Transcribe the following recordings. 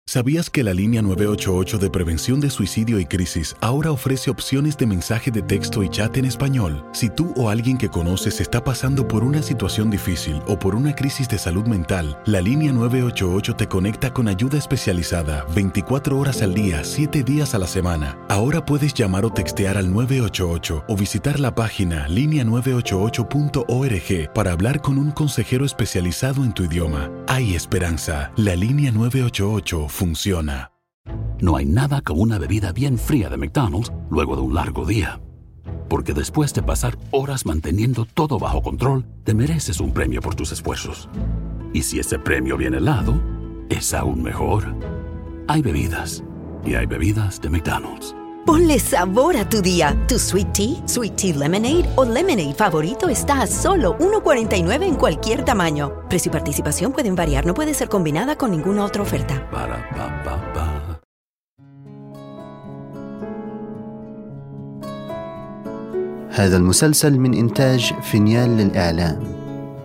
¿Sabías que la línea 988 de prevención de suicidio y crisis ahora ofrece opciones de mensaje de texto y chat en español? Si tú o alguien que conoces está pasando por una situación difícil o por una crisis de salud mental, la línea 988 te conecta con ayuda especializada 24 horas al día, 7 días a la semana. Ahora puedes llamar o textear al 988 o visitar la página linea988.org para hablar con un consejero especializado en tu idioma. Hay esperanza. La línea 988 funciona. No hay nada como una bebida bien fría de McDonald's luego de un largo día. Porque después de pasar horas manteniendo todo bajo control, te mereces un premio por tus esfuerzos. Y si ese premio viene helado, es aún mejor. Hay bebidas, y hay bebidas de McDonald's. Ponle sabor a tu día. Tu Sweet Tea Lemonade o Lemonade favorito está a solo $1.49 en cualquier tamaño. Precio y participación pueden variar. No puede ser combinada con ninguna otra oferta. هذا المسلسل من إنتاج فينيال للإعلام.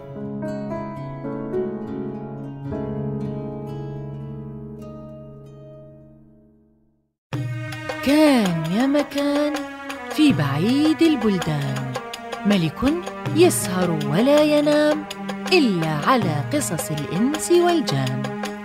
كان يا مكان في بعيد البلدان ملك يسهر ولا ينام إلا على قصص الإنس والجان.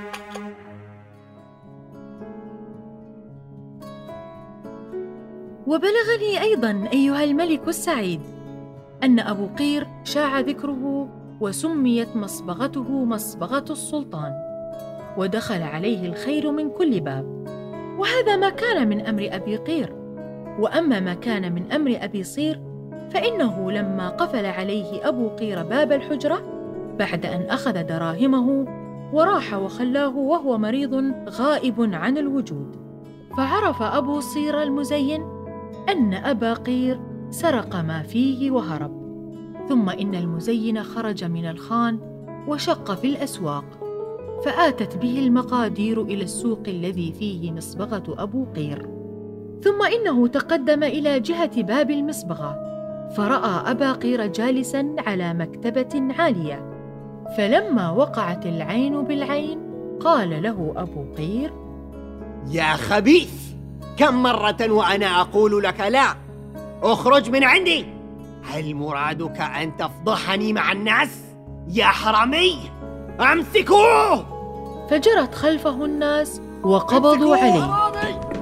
وبلغني أيضاً أيها الملك السعيد أن أبو قير شاع ذكره وسميت مصبغته مصبغة السلطان، ودخل عليه الخير من كل باب. وهذا ما كان من أمر أبي قير. وأما ما كان من أمر أبي صير فإنه لما قفل عليه أبو قير باب الحجرة بعد أن أخذ دراهمه وراح وخلاه وهو مريض غائب عن الوجود، فعرف أبو صير المزين أن أبا قير سرق ما فيه وهرب. ثم إن المزين خرج من الخان وشق في الأسواق، فآتت به المقادير إلى السوق الذي فيه مصبغة أبو قير. ثم إنه تقدم إلى جهة باب المصبغة، فرأى أبا قير جالساً على مكتبة عالية. فلما وقعت العين بالعين قال له أبو قير: يا خبيث، كم مرة وأنا أقول لك لا، اخرج من عندي. هل مرادك أن تفضحني مع الناس؟ يا حرامي، أمسكوه! فجرت خلفه الناس وقبضوا عليه.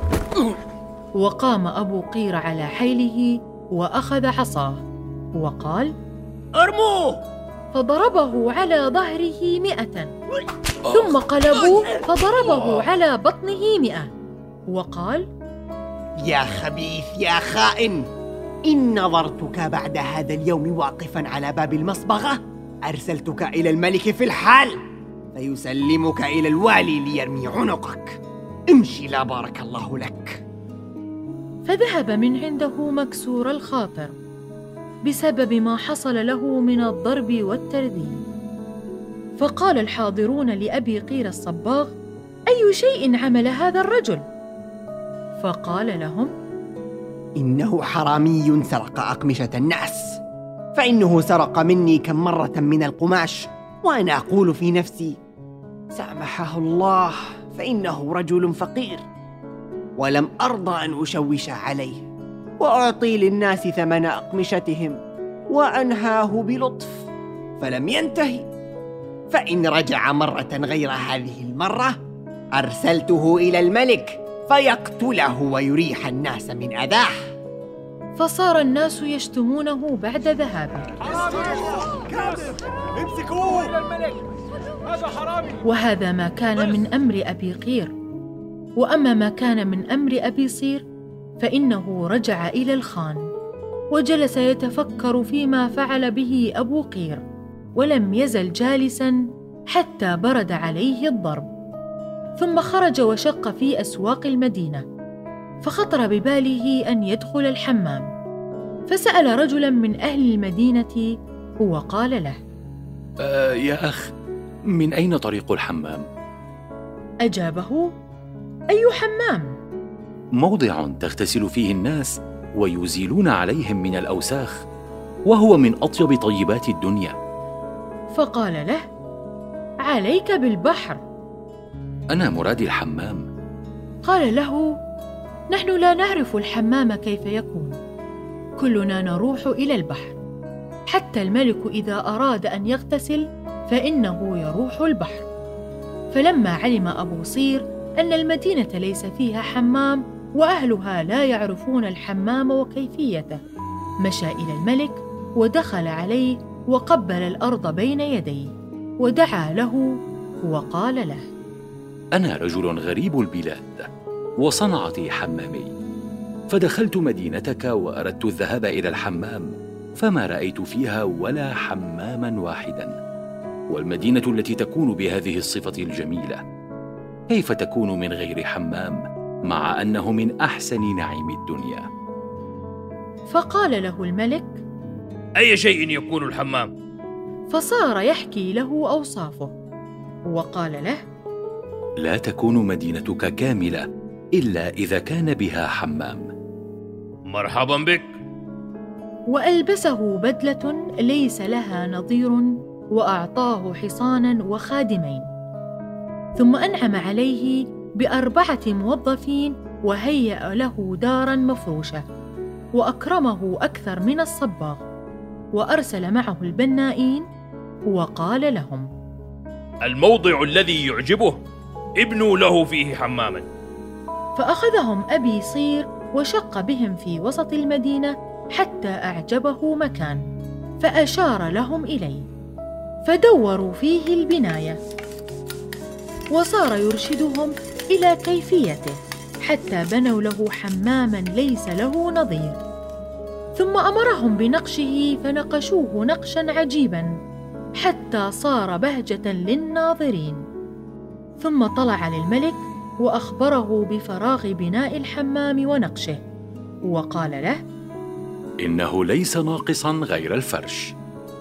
وقام أبو قير على حيله وأخذ عصاه وقال: ارموه! فضربه على ظهره 100، ثم قلبوا فضربه على بطنه 100 وقال: يا خبيث يا خائن، إن نظرتك بعد هذا اليوم واقفاً على باب المصبغة أرسلتك إلى الملك في الحال، فيسلمك إلى الوالي ليرمي عنقك. امشي، لا بارك الله لك. فذهب من عنده مكسور الخاطر بسبب ما حصل له من الضرب والترذيل. فقال الحاضرون لأبي قير الصباغ: أي شيء عمل هذا الرجل؟ فقال لهم: إنه حرامي سرق أقمشة الناس، فإنه سرق مني كم مرة من القماش، وأنا أقول في نفسي: سامحه الله، فإنه رجل فقير، ولم أرضى أن أشوش عليه وأعطي للناس ثمن أقمشتهم، وأنهاه بلطف فلم ينتهي. فإن رجع مرة غير هذه المرة أرسلته إلى الملك فيقتله ويريح الناس من أذاه. فصار الناس يشتمونه بعد ذهابه. امسكوه إلى الملك، هذا حرامي. وهذا ما كان من أمر أبي قير. وأما ما كان من أمر أبي صير فإنه رجع إلى الخان وجلس يتفكر فيما فعل به أبو قير، ولم يزل جالساً حتى برد عليه الضرب. ثم خرج وشق في أسواق المدينة، فخطر بباله أن يدخل الحمام، فسأل رجلاً من أهل المدينة وقال له: يا أخ، من أين طريق الحمام؟ أجابه: أي حمام؟ موضع تغتسل فيه الناس ويزيلون عليهم من الأوساخ، وهو من أطيب طيبات الدنيا. فقال له: عليك بالبحر. أنا مرادي الحمام. قال له: نحن لا نعرف الحمام كيف يكون، كلنا نروح إلى البحر، حتى الملك إذا أراد أن يغتسل فإنه يروح البحر. فلما علم أبو صير أن المدينة ليس فيها حمام وأهلها لا يعرفون الحمام وكيفيته، مشى إلى الملك ودخل عليه وقبل الأرض بين يديه ودعا له وقال له: أنا رجل غريب البلاد وصنعتي حمامي، فدخلت مدينتك وأردت الذهاب إلى الحمام فما رأيت فيها ولا حماما واحدا، والمدينة التي تكون بهذه الصفة الجميلة كيف تكون من غير حمام مع أنه من أحسن نعيم الدنيا؟ فقال له الملك: أي شيء يكون الحمام؟ فصار يحكي له أوصافه وقال له: لا تكون مدينتك كاملة إلا إذا كان بها حمام. مرحبا بك. وألبسه بدلة ليس لها نظير وأعطاه حصانا وخادمين، ثم أنعم عليه ب4 موظفين وهيأ له دارا مفروشة وأكرمه أكثر من الصباغ، وأرسل معه البنائين وقال لهم: الموضع الذي يعجبه ابنوا له فيه حماما. فأخذهم أبي صير وشق بهم في وسط المدينة حتى أعجبه مكان، فأشار لهم إليه، فدوروا فيه البناية، وصار يرشدهم إلى كيفيته حتى بنوا له حماماً ليس له نظير. ثم أمرهم بنقشه فنقشوه نقشاً عجيباً حتى صار بهجة للناظرين. ثم طلع للملك وأخبره بفراغ بناء الحمام ونقشه، وقال له: إنه ليس ناقصاً غير الفرش.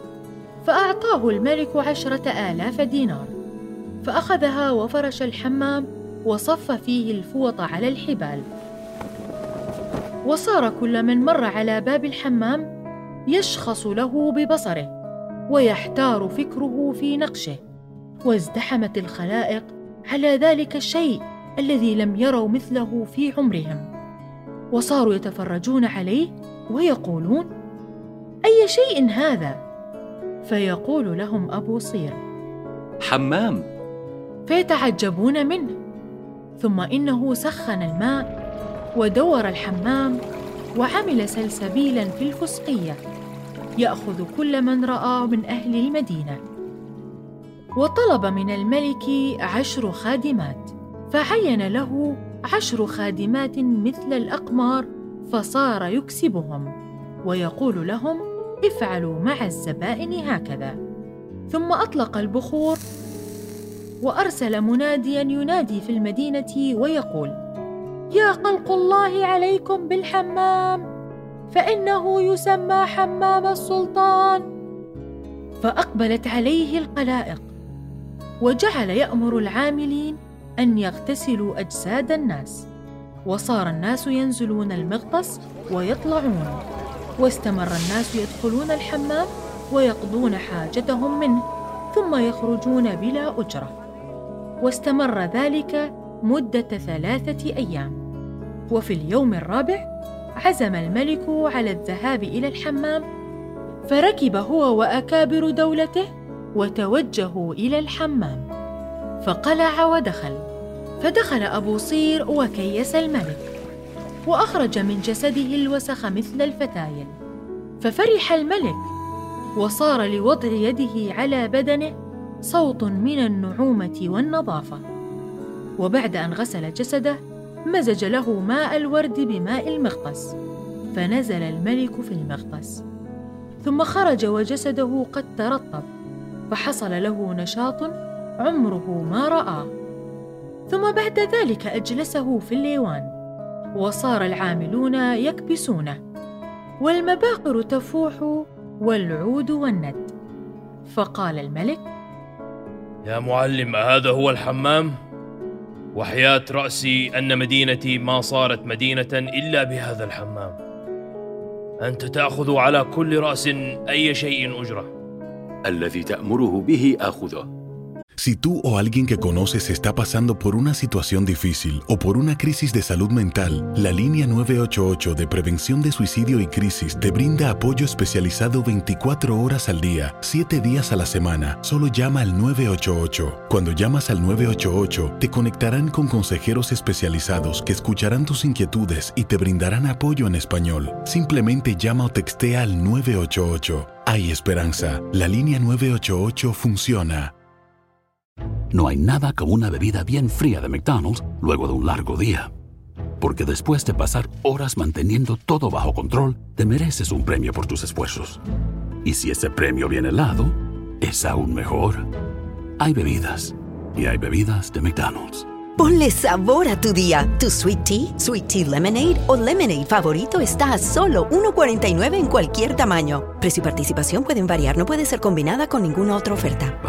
فأعطاه الملك 10,000 دينار، فأخذها وفرش الحمام وصف فيه الفوط على الحبال. وصار كل من مر على باب الحمام يشخص له ببصره ويحتار فكره في نقشه، وازدحمت الخلائق على ذلك الشيء الذي لم يروا مثله في عمرهم، وصاروا يتفرجون عليه ويقولون: أي شيء هذا؟ فيقول لهم أبو صير: حمام. فيتعجبون منه. ثم إنه سخن الماء ودور الحمام وعمل سلسبيلاً في الفسقية يأخذ كل من رأى من أهل المدينة. وطلب من الملك 10 خادمات، فعين له 10 خادمات مثل الأقمار، فصار يكسبهم ويقول لهم: افعلوا مع الزبائن هكذا. ثم أطلق البخور وأرسل منادياً ينادي في المدينة ويقول: يا خلق الله عليكم بالحمام، فإنه يسمى حمام السلطان. فأقبلت عليه الخلائق، وجعل يأمر العاملين أن يغتسلوا أجساد الناس، وصار الناس ينزلون المغطس ويطلعون، واستمر الناس يدخلون الحمام ويقضون حاجتهم منه ثم يخرجون بلا أجرة. واستمر ذلك مدة 3 أيام. وفي اليوم الرابع عزم الملك على الذهاب إلى الحمام، فركب هو وأكابر دولته وتوجهوا إلى الحمام، فقلع ودخل. فدخل أبو صير وكيس الملك، وأخرج من جسده الوسخ مثل الفتايل، ففرح الملك، وصار لوضع يده على بدنه صوت من النعومة والنظافة. وبعد أن غسل جسده مزج له ماء الورد بماء المغطس، فنزل الملك في المغطس، ثم خرج وجسده قد ترطب، فحصل له نشاط عمره ما رآه. ثم بعد ذلك أجلسه في الليوان، وصار العاملون يكبسونه، والمباخر تفوح والعود والند. فقال الملك: يا معلم، هذا هو الحمام؟ وحياة رأسي أن مدينتي ما صارت مدينة إلا بهذا الحمام. أنت تأخذ على كل رأس أي شيء أجرة. الذي تأمره به آخذه. Si tú o alguien que conoces está pasando por una situación difícil o por una crisis de salud mental, la línea 988 de prevención de suicidio y crisis te brinda apoyo especializado 24 horas al día, 7 días a la semana. Solo llama al 988. Cuando llamas al 988, te conectarán con consejeros especializados que escucharán tus inquietudes y te brindarán apoyo en español. Simplemente llama o textea al 988. Hay esperanza. La línea 988 funciona. No hay nada como una bebida bien fría de McDonald's luego de un largo día. Porque después de pasar horas manteniendo todo bajo control, te mereces un premio por tus esfuerzos. Y si ese premio viene helado, es aún mejor. Hay bebidas, y hay bebidas de McDonald's. Ponle sabor a tu día. Tu Sweet Tea Lemonade o Lemonade favorito está a solo $1.49 en cualquier tamaño. Precio y participación pueden variar, no puede ser combinada con ninguna otra oferta.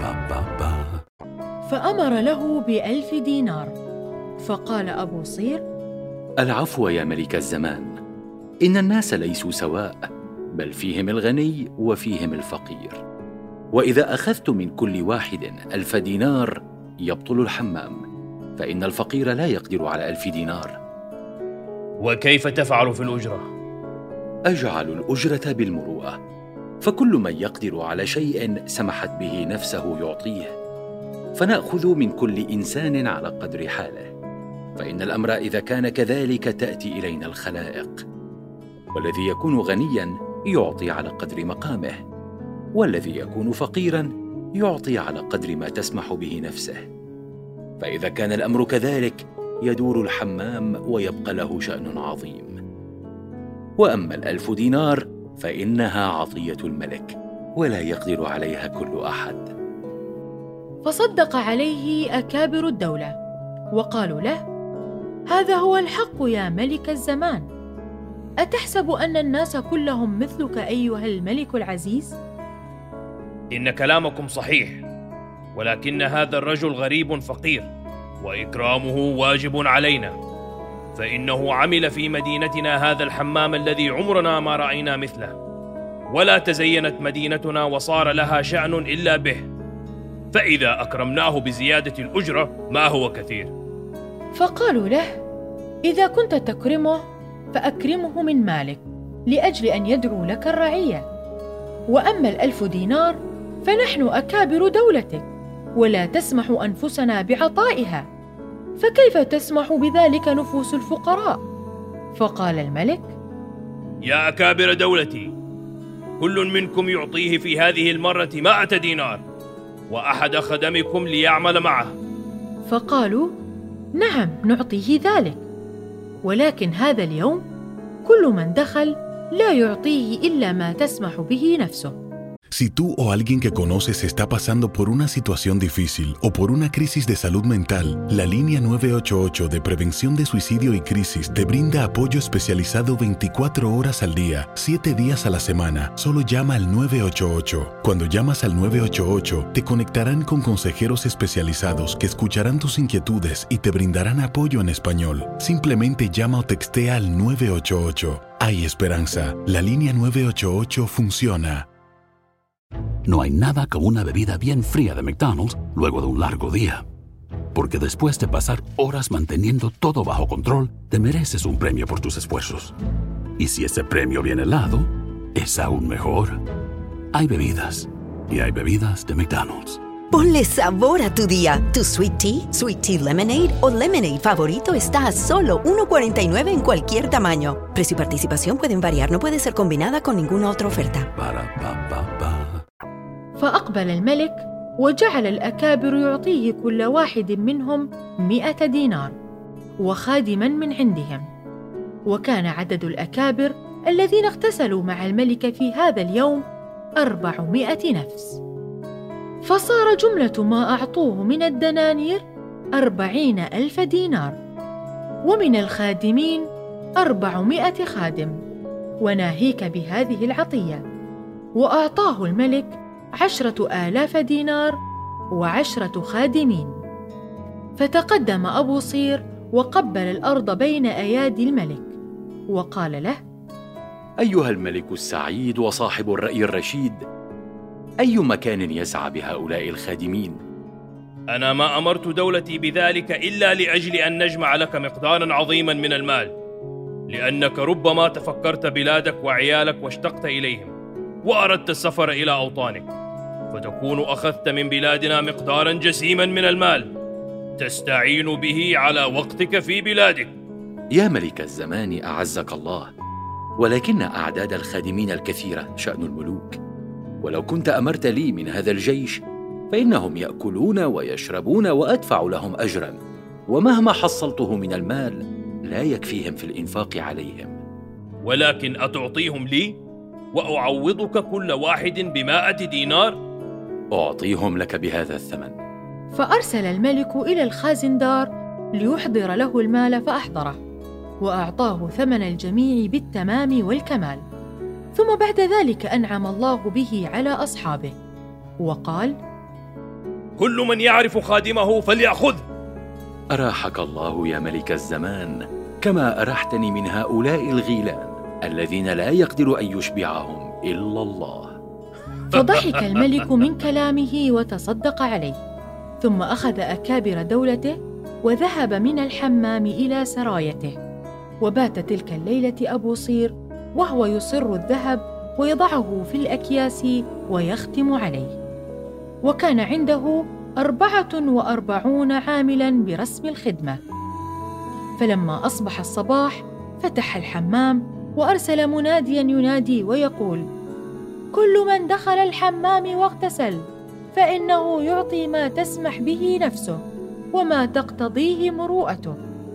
فأمر له ب1,000 دينار. فقال أبو صير: العفو يا ملك الزمان، إن الناس ليسوا سواء، بل فيهم الغني وفيهم الفقير، وإذا أخذت من كل واحد 1000 دينار يبطل الحمام، فإن الفقير لا يقدر على 1000 دينار. وكيف تفعل في الأجرة؟ أجعل الأجرة بالمروءة، فكل من يقدر على شيء سمحت به نفسه يعطيه، فنأخذ من كل إنسان على قدر حاله، فإن الأمر إذا كان كذلك تأتي إلينا الخلائق، والذي يكون غنياً يعطي على قدر مقامه، والذي يكون فقيراً يعطي على قدر ما تسمح به نفسه، فإذا كان الأمر كذلك يدور الحمام ويبقى له شأن عظيم. وأما 1000 دينار فإنها عطية الملك، ولا يقدر عليها كل أحد. فصدق عليه أكابر الدولة وقالوا له: هذا هو الحق يا ملك الزمان. أتحسب أن الناس كلهم مثلك أيها الملك العزيز؟ إن كلامكم صحيح، ولكن هذا الرجل غريب فقير، وإكرامه واجب علينا، فإنه عمل في مدينتنا هذا الحمام الذي عمرنا ما رأينا مثله، ولا تزينت مدينتنا وصار لها شأن إلا به، فإذا أكرمناه بزيادة الأجرة ما هو كثير. فقالوا له: إذا كنت تكرمه فأكرمه من مالك لأجل أن يدعو لك الرعية، وأما 1000 دينار فنحن أكابر دولتك ولا تسمح أنفسنا بعطائها، فكيف تسمح بذلك نفوس الفقراء؟ فقال الملك: يا أكابر دولتي، كل منكم يعطيه في هذه المرة 100 دينار، وأحد خدمكم ليعمل معه. فقالوا: نعم نعطيه ذلك، ولكن هذا اليوم كل من دخل لا يعطيه إلا ما تسمح به نفسه. Si tú o alguien que conoces está pasando por una situación difícil o por una crisis de salud mental, la línea 988 de prevención de suicidio y crisis te brinda apoyo especializado 24 horas al día, 7 días a la semana. Solo llama al 988. Cuando llamas al 988, te conectarán con consejeros especializados que escucharán tus inquietudes y te brindarán apoyo en español. Simplemente llama o textea al 988. Hay esperanza. La línea 988 funciona. No hay nada como una bebida bien fría de McDonald's luego de un largo día. Porque después de pasar horas manteniendo todo bajo control, te mereces un premio por tus esfuerzos. Y si ese premio viene helado, es aún mejor. Hay bebidas, y hay bebidas de McDonald's. Ponle sabor a tu día. Tu Sweet Tea Lemonade o Lemonade favorito está a solo $1.49 en cualquier tamaño. Precio y participación pueden variar, no puede ser combinada con ninguna otra oferta. فأقبل الملك وجعل الأكابر يعطيه كل واحد منهم 100 دينار وخادما من عندهم، وكان عدد الأكابر الذين اغتسلوا مع الملك في هذا اليوم 400 نفس، فصار جملة ما أعطوه من الدنانير 40,000 دينار، ومن الخادمين 400 خادم، وناهيك بهذه العطية. وأعطاه الملك 10,000 دينار و10 خادمين. فتقدم أبو صير وقبل الأرض بين أيادي الملك وقال له: أيها الملك السعيد وصاحب الرأي الرشيد، أي مكان يسعى بهؤلاء الخادمين؟ أنا ما أمرت دولتي بذلك إلا لأجل أن نجمع لك مقدارا عظيما من المال، لأنك ربما تفكرت بلادك وعيالك واشتقت إليهم وأردت السفر إلى أوطانك، فتكون أخذت من بلادنا مقدارا جسيما من المال تستعين به على وقتك في بلادك. يا ملك الزمان أعزك الله، ولكن أعداد الخادمين الكثيرة شأن الملوك، ولو كنت أمرت لي من هذا الجيش فإنهم يأكلون ويشربون وأدفع لهم أجرا، ومهما حصلته من المال لا يكفيهم في الإنفاق عليهم. ولكن أتعطيهم لي وأعوضك كل واحد ب100 دينار؟ أعطيهم لك بهذا الثمن. فأرسل الملك إلى الخازندار ليحضر له المال فأحضره، وأعطاه ثمن الجميع بالتمام والكمال. ثم بعد ذلك أنعم الله به على أصحابه وقال: كل من يعرف خادمه فليأخذه. أراحك الله يا ملك الزمان، كما أرحتني من هؤلاء الغيلان الذين لا يقدر أن يشبعهم إلا الله. فضحك الملك من كلامه وتصدق عليه، ثم أخذ أكابر دولته وذهب من الحمام إلى سرايته. وبات تلك الليلة أبو صير وهو يصر الذهب ويضعه في الأكياس ويختم عليه، وكان عنده 44 عاملاً برسم الخدمة. فلما أصبح الصباح فتح الحمام وأرسل منادياً ينادي ويقول: كل من دخل الحمام واغتسل فإنه يعطي ما تسمح به نفسه وما تقتضيه مروءته.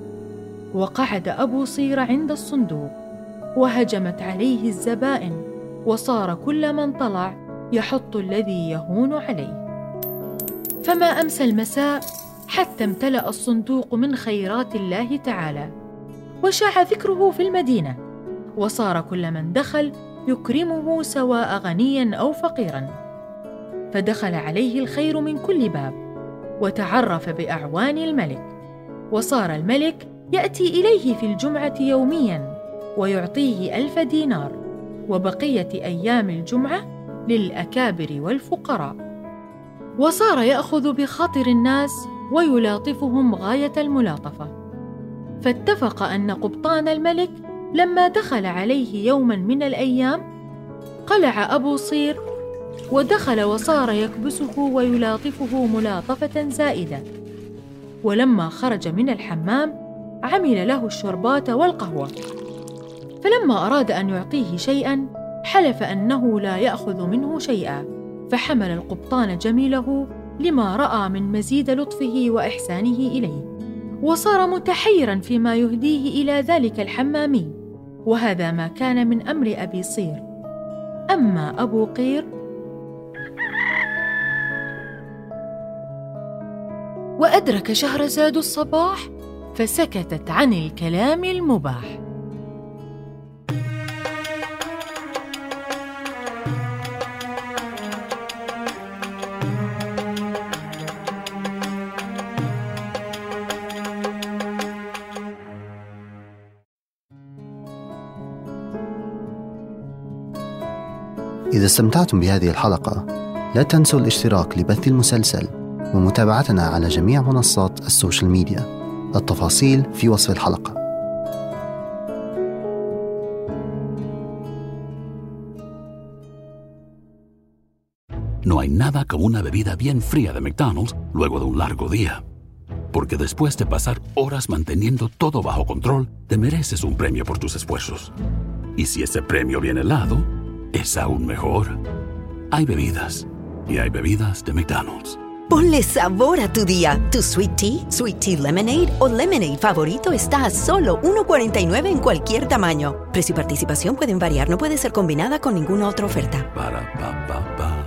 وقعد أبو صير عند الصندوق، وهجمت عليه الزبائن، وصار كل من طلع يحط الذي يهون عليه. فما أمسى المساء حتى امتلأ الصندوق من خيرات الله تعالى، وشاع ذكره في المدينة، وصار كل من دخل يكرمه سواء غنياً أو فقيراً. فدخل عليه الخير من كل باب، وتعرف بأعوان الملك، وصار الملك يأتي إليه في الجمعة يومياً ويعطيه 1000 دينار، وبقية أيام الجمعة للأكابر والفقراء. وصار يأخذ بخاطر الناس ويلاطفهم غاية الملاطفة. فاتفق أن قبطان الملك لما دخل عليه يوماً من الأيام قلع أبو صير ودخل، وصار يكبسه ويلاطفه ملاطفة زائدة. ولما خرج من الحمام عمل له الشربات والقهوة. فلما أراد أن يعطيه شيئاً حلف أنه لا يأخذ منه شيئاً، فحمل القبطان جميله لما رأى من مزيد لطفه وإحسانه إليه، وصار متحيراً فيما يهديه إلى ذلك الحمامي. وهذا ما كان من أمر أبي صير. أما أبو قير وأدرك شهرزاد الصباح فسكتت عن الكلام المباح. إذا استمتعتم بهذه الحلقة لا تنسوا الاشتراك لبث المسلسل ومتابعتنا على جميع منصات السوشيال ميديا. التفاصيل في وصف الحلقة. No hay nada como una bebida bien fría de McDonald's luego de un largo día. Porque después de pasar horas manteniendo todo bajo control, te mereces un premio por tus esfuerzos. Y si ese premio viene helado, es aún mejor. Hay bebidas, y hay bebidas de McDonald's. Ponle sabor a tu día. Tu Sweet Tea Lemonade o Lemonade favorito está a solo $1.49 en cualquier tamaño. Precio y participación pueden variar, no puede ser combinada con ninguna otra oferta. Para, pa, pa, pa.